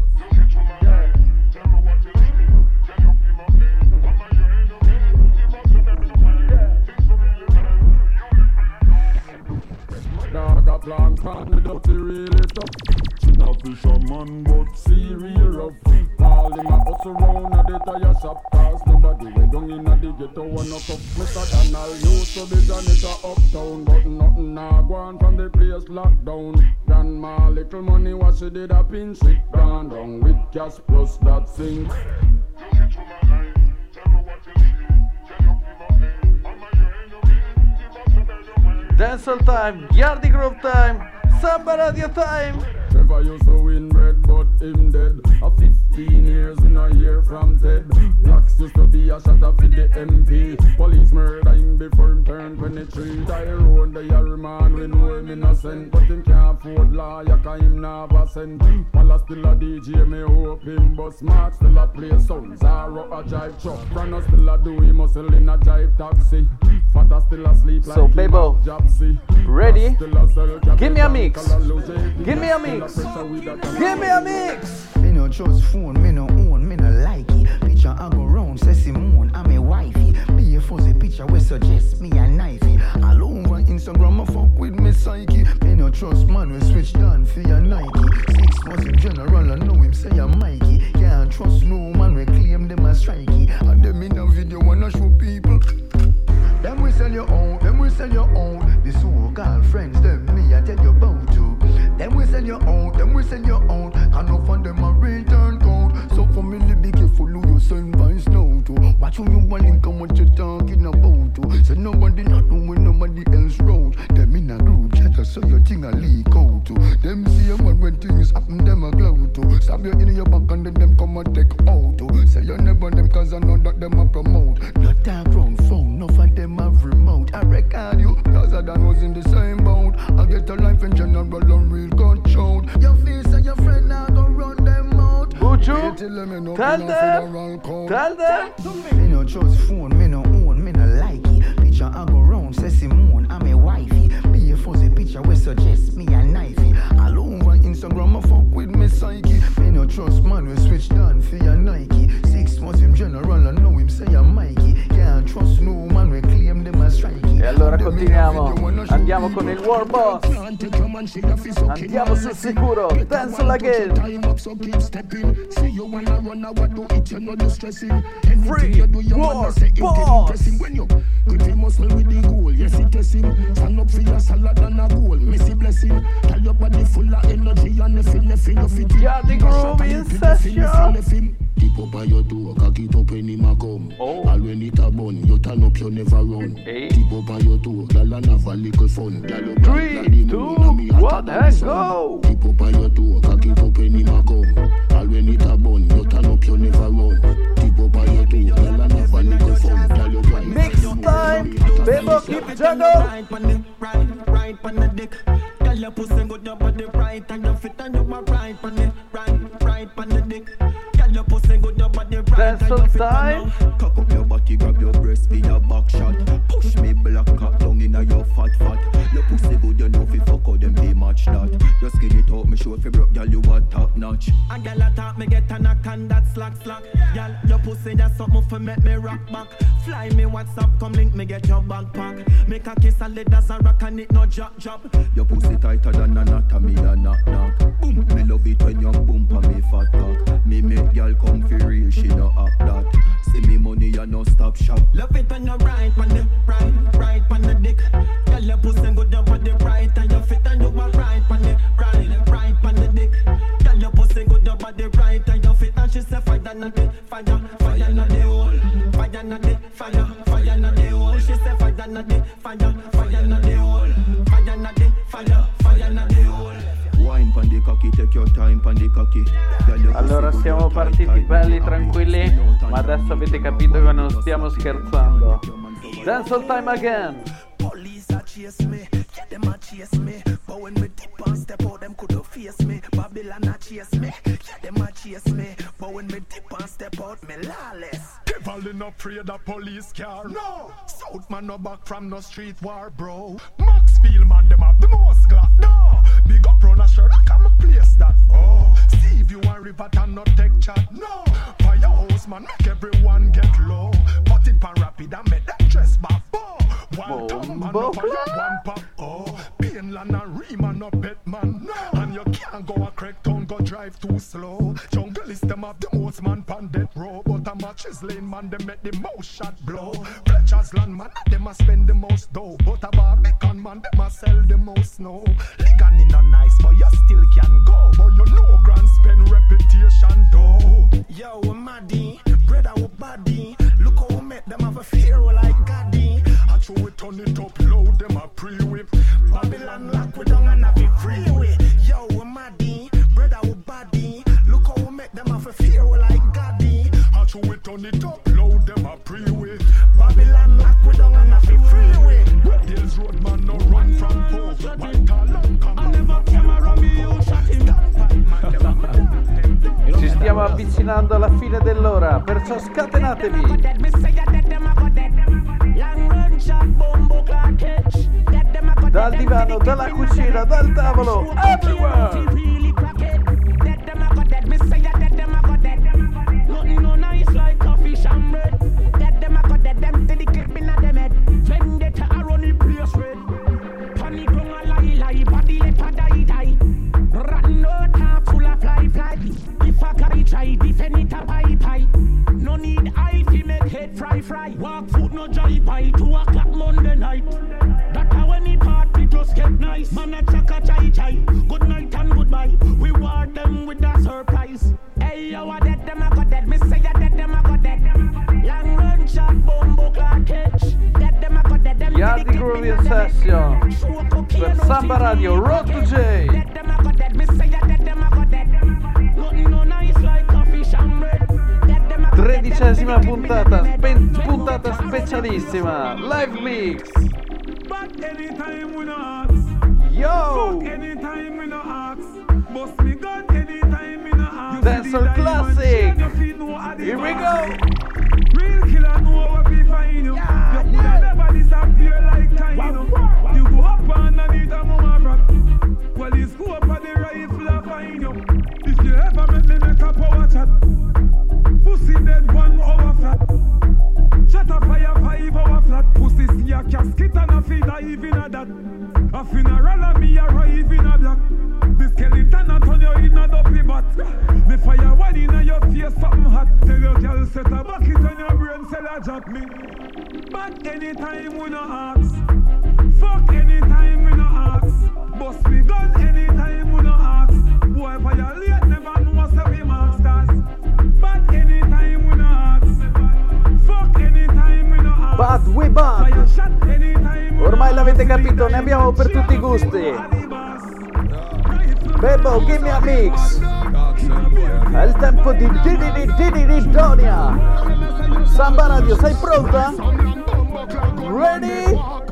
Dog a plank on the dirty really tough. No fisherman but sea real rough. All them a hustle round a the tire shop. Cause nobody went down in a the ghetto one up. Mr. Donald used to be janitor uptown. But nothing now gone from the place lockdown. Grandma little money what she did a pinch it. Gone down with cash plus that sink. Dancehall time, Yardi Groove time, Samba Radio time. Trevor used to win bread, but him dead. A 15 years in a year from Ted. Blacks used to be a shot up with the MP. Police murder him before him turned 23. Tyrone, the Yarry man, we know him innocent. But him can't afford lawyer, cause him never sent. Pala still a DJ, me hope him. But Smart still a play sounds, Zara a jive truck. Brana still a do him muscle in a jive taxi. Fata still asleep like so, Bebo, ready? Give me a mix. Give me a mix. Give me a mix. Me no trust phone, me no own, me no like it. Picture I go round, say Simone, I'm a wifey. Be a fuzzy picture we suggest me a knifey. All over Instagram, I fuck with me psyche. Me no trust man, we switch down for your Nike. 6 months in general, I know him say I'm Mikey. Can't trust no man, we claim them as strikey. And them in a video wanna show people. Them we sell your own, them we sell your own. The so-called friends, them me I tell you about to. Them we sell your own, them we sell your own. And no fund them a return code. So family be careful who you send vines now to. Watch who you want link and what you talking about to. So nobody not doing nobody else road. Them in a group chat so your thing a leak out to. Them see them when things happen them a cloud to. Stab you in your back and then them come and take out to. Say you never them cause I know that them a promote. Not that wrong phone, no for them have remote. I record you cause I done was in the same boat. I get a life in general and real control. Your face and your friend now go run them out. Buju, tell them. Me no trust phone, me no own, me no like it. Picture I go round, say Simone, I'm a wifey. Be a fuzzy picture we suggest me a knifey. All over Instagram I fuck with me psyche. Me no trust man, we switch down for your Nike. 6 months in general, I know him say I'm Mikey. Can't trust no man, we claim them as strikey. E allora continuiamo, andiamo con il War Boss. Andiamo sul sicuro, Dancehall again. Free War Boss. Good we muscle with the goal, yes it is him. Stand up for your salad and a goal, Messi blessing. Tell your body full of energy and the feel of it. Yardi Groove in session. Keep up by your door, cock it up when him a come. All when it a bun, you turn up, you never run. Keep up by your door, girl and have a little fun. 3, 2, 1, and go. Keep up by your door, cock it up when him a come. All when it a bun, you turn up, you never run. Keep up by your door, girl and have a little fun. Mix time, Bebo keep juggle. Right on the dick. Girl your pussy good, your body right and your fit and you are right on the right on the dick. Your pussy good, your body right and your fit and you. Cock up your body, grab your breast for your back shot. Push me black cock down inna your fat. Your pussy good, you know fi fuck out them be match that. Just skin it out, me show fi broke, girl you a top notch. A girl a talk, me get a knock and that slack. Girl your pussy that's something fi make me rock back. Fly me WhatsApp, come link me get your backpack. Make a kiss and let as a rock and it no drop. Your pussy tighter than anatomy and knock. Boom, me love it when you boom pa me fat cock. Me make girl come fi real, she no act that. See me money and no stop shop. Love it when you right on the right on the dick. Girl your pussy good, your body right and your fit and you are right on the right on the dick. Girl your pussy good, your body right and your fit and she say fire na the fire na the hole. Fire na the fire na the hole. She say fire na the fire na the hole. Fire na the fire na the hole. Wine pon the cock cocky, take your time on the cocky. Allora siamo partiti belli tranquilli, ma adesso avete capito che non stiamo scherzando. Dancehall time again. Police a chase me, yeah, them a chase me. But when me dip and step out, them could face me. Babylon a chase me, yeah, them a chase me. But when me dip and step out, me lawless. Devil not afraid of police car. No, South man no back from no street war, bro. Maxfield man them have the most glass. No, big up run a shirt, I come place that. Oh, see if you want river and not take chat. No, firehouse man make everyone get low. Put it pan rapid and make them dress back. One tongue man no fire, one pop. Oh, Painland and Riemann no bet man. No, and you can't go a crack town, go drive too slow. Jungle is them have the most man pan death row. But a matches lane man, they make the most shot blow. Fletcher's land man, they must spend the most dough. But a Barbican man, they must sell the most snow. Ligan in a nice, but you still can go. But you know grand spend reputation though. Yo, we Maddie, brother, we body. Look how we make them have a fear like Gaddy. I throw it on it up low, them a pre-whip. Babylon lock we down and have it freeway. Yo, we Maddie, brother, we body. Look how we make them have a fear like Gaddy. I throw it on it up low, them a pre-whip. Babylon lock we down and have it freeway. Deals road man no run from poor. White talent come I never came around me, you shot him. Ci stiamo avvicinando alla fine dell'ora, perciò scatenatevi. Dal divano, dalla cucina, dal tavolo, everywhere. Try defend it a pie. No need eye to make head fry. Walk foot no dry pie. 2 o'clock Monday night. That how when the party just get nice. Man a chaka chai. Good night and goodbye. We ward them with a surprise. Hey yo, a dead them a go dead. Me say a dead them a go dead. Long run shot bombo clock catch. Dead them a go dead. Them Yardi Groove in session per Samba Radio Road to J. Dead them a go dead. Me say a dead them a go dead. Nothing no nice like coffee shambred. 13ª puntata specialissima, live mix. But anytime we no ask. Yo! Fuck anytime we no ask. Bust me gun anytime we no ask. Dancehall classic. Here we go. Real killer know what we find you. You could never disappear like Taino. You go up underneath a mama rock. Well, you go up on the rifle and find you. If you ever make me make a power chat. Pussy dead 1 hour flat. Shut a fire 5 hour flat. Pussy see a casket and a feed a even a that. A funeral and me arrive in a black. The skeleton a turn you in a dopey bat. Me fire one in a your face something hot. Tell your girl set a bucket on your brain sell a jack me. But anytime we no ask. Fuck anytime we no ask. Bust me gun anytime we no ask. Boy violate never know say we masters. But anytime we no ask. Fuck anytime we no ask. But we bad. Ormai l'avete capito, ne abbiamo per tutti i gusti. Bebo, give me a mix. È il tempo di Didi Donia. Samba Radio, sei pronta? Ready?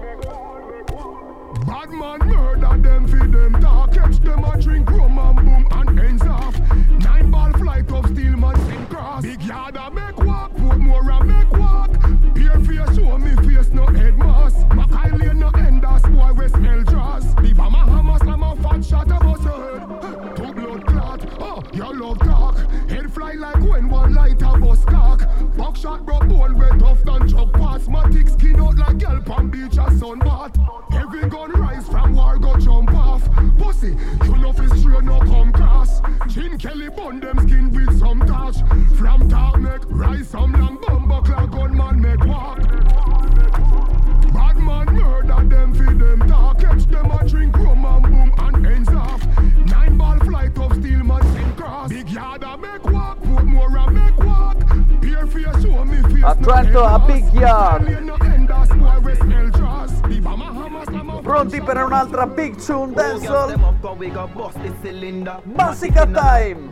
Bad man murder them, feed them talk. Catch them a drink rum and boom and ends off. 9 ball flight of steel man sing cross. Big yard a make walk, put more a make walk. Peer face show me face no head mask. Mackay lane no enders, boy we smell dross. The bomber hammer slam a fat shot above your head. 2 blood clot, oh you love talk. Head fly like when one light a bus cock. Buckshot broke bone way tough than chuck pass. Matic skin out like girl pan beach a sunbath. Every gun rise from war go jump off. Pussy, you know fi straight no come cross. Chin Kelly bun them skin with some touch. From top neck, rise some long bumbo clock gunman make walk. Bad man murder them fi them talk. Catch them a drink rum and boom and ends off. 9 ball flight of steel man sing cross. Big yard a make walk, put more a make walk. Peer face show me face Atlanto a big yard. pronti per un'altra Big Tune Dancehall? Massacre Time!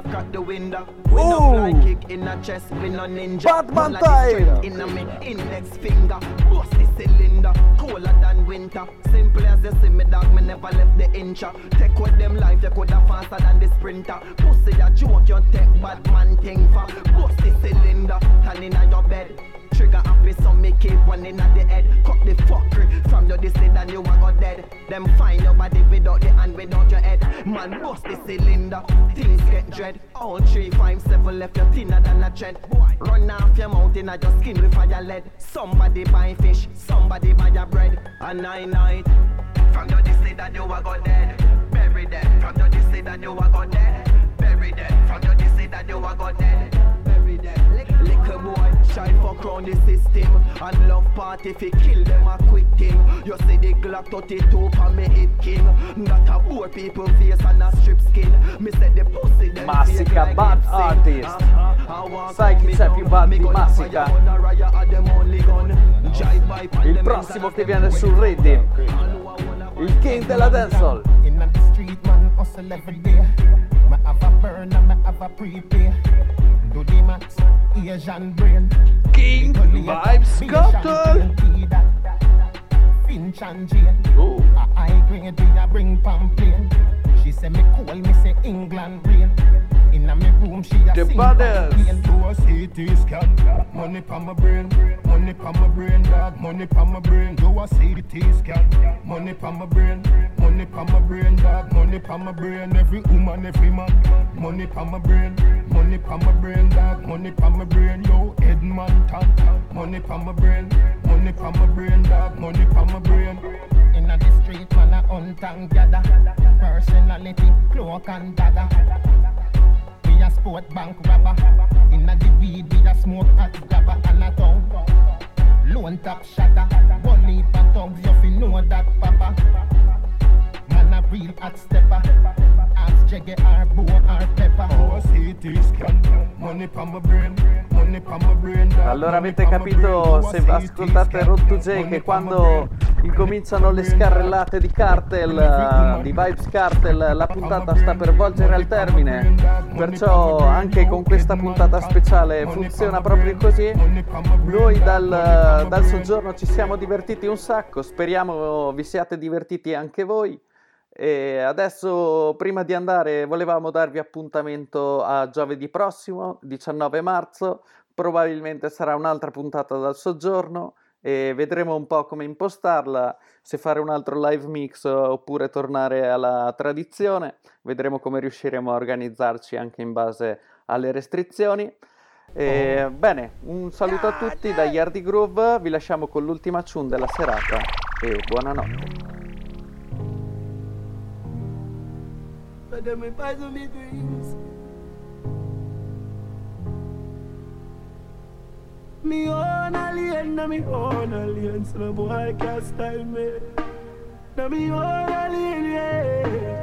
Batman Time! Index finger, bust the cylinder, colder than winter. Simple as you see me, dog, me never left the incha. Take with them life, you coulda faster than the sprinter. Pussy a joke, you take bad man thing for. Bust the cylinder, turn inna your bed. Trigger happy, so me keep one inna the head. Cut the fuckery from your distance and you a go dead. Them find your body without the hand, without your head. Man, bust the cylinder, things get dread. All 3, 5, 7 left you thinner than a thread. Run off your mouth inna your skin with fire lead. Somebody buy fish, somebody buy your bread. A night from your distance that you a go dead. Bury them from your distance that you a go dead. Bury them from your distance that you a go dead. Bury them. Little boy, shy fuck round the system. And love party if you kill them a quick thing. You see the Glock 32 for me hit king. Not a poor people face and a strip skin. Me said the pussy them Massacre Bad Artist. Sai chi c'è più bad di Massacre? Il prossimo che viene sul Reddit, il king della dancehall. In the street man hustle every day. Me have a burn and me have a prepay. Do the max, Asian brain. King Vybz Kartel. Finch and Jane. A high grade we a bring pamphlet. She say me cool, me say England rain. Inna me room she a sing pamphlet. Do a CT scan. Money pa my brain. Money pa my brain, dog. Money pa my brain. Do a CT scan. Money pa my brain. Money pa my brain, dog. Money pa my brain. Every woman, every man. Money pa my brain. Money pa my brain, dog. Money pa my brain. Yo, Edmonton. Money pa my brain. Money pa my brain, dog. Money pa my brain. Inna the street man a hunt and gather. Personality, cloak and dagger. We a sport bank robber. Inna the weed we a smoke hot grabber and a tongue. Lone top shatter. One leap a tongues you fi know that papa. Man a real hot stepper. Ask Jaggy or Bo or Pepper. Oh, CT scan. Money pa my brain. Money pa my brain. Allora avete capito, se ascoltate Road to J, che quando incominciano le scarrellate di Kartel, di Vybz Kartel, la puntata sta per volgere al termine. Perciò anche con questa puntata speciale funziona proprio così. Noi dal soggiorno ci siamo divertiti un sacco, speriamo vi siate divertiti anche voi. E adesso, prima di andare, volevamo darvi appuntamento a giovedì prossimo, 19 marzo. Probabilmente sarà un'altra puntata dal soggiorno e vedremo un po' come impostarla, se fare un altro live mix oppure tornare alla tradizione. Vedremo come riusciremo a organizzarci anche in base alle restrizioni. Bene, un saluto a tutti da Yardi Groove, vi lasciamo con l'ultima tune della serata e buonanotte. Me own alien, na me own alien, so no boy can't style me. Na me own alien, yeah.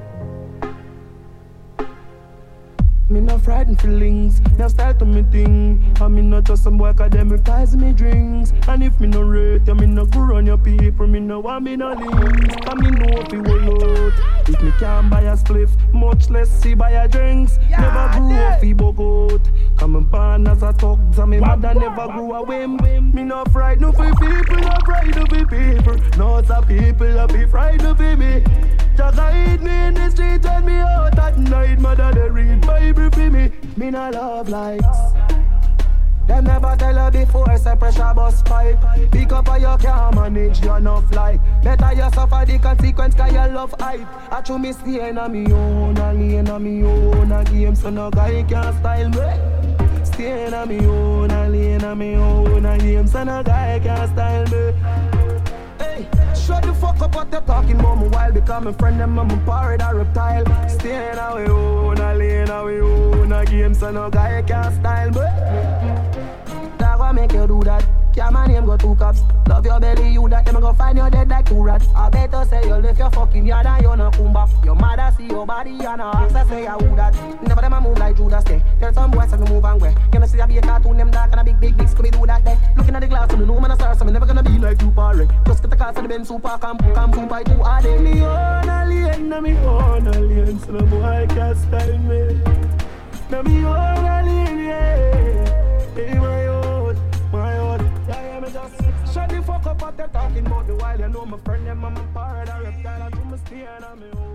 Me no frightened feelings, now style to me thing. And me not just some boy cause them reprise me drinks. And if me no rate you, me no go run your people. Me no want me no links, cause me know if you will out. If me can't buy a spliff, much less see buy a drinks. Never grew up fi bug out. Cause me born as a thug, and me mother never grew a whim. Me no frightened for people, no frightened for people. No some people that be frightened for me. Just hide me in the street when me out at night. Mother they read Bible for me. Me no love likes. Them never tell her before, say pressure bus pipe. Pick up or you can't manage, you enough like. Better you suffer the consequence cause you love hype. I true me stay in a me own, a lane a me own a game. So no guy can style me. Stay in a me own, a lane a me own a game. So no guy can style me. Hey, shut the fuck up what you're talking about me while. Because my friend them and my pirate a reptile. Stay in a we own, a lane a we own a game. So no guy can style me. That what make you do that? Yeah, my name go two cops. Love your belly, you that. Them go find you dead like two rats. I better say you left your fucking yard and you no come back. Your mother see your body and her ask her say I who that. Never them a move like Judas day. Tell some boys to move and way. You know see I be a cartoon them dark and a big Scooby do that day. Looking at the glass, so me know man a star, so me never gonna be like you. super wreck. Just get the car for the Benz super camp super too hard. Me own a lane, na me own a lane, so no boy can style me. Na me own a lane, yeah. Hey, my own. Yeah, me just shut the fuck up what they're talking about the while. You know my friend, them, I'm a part of reptile, and to my stay and I'm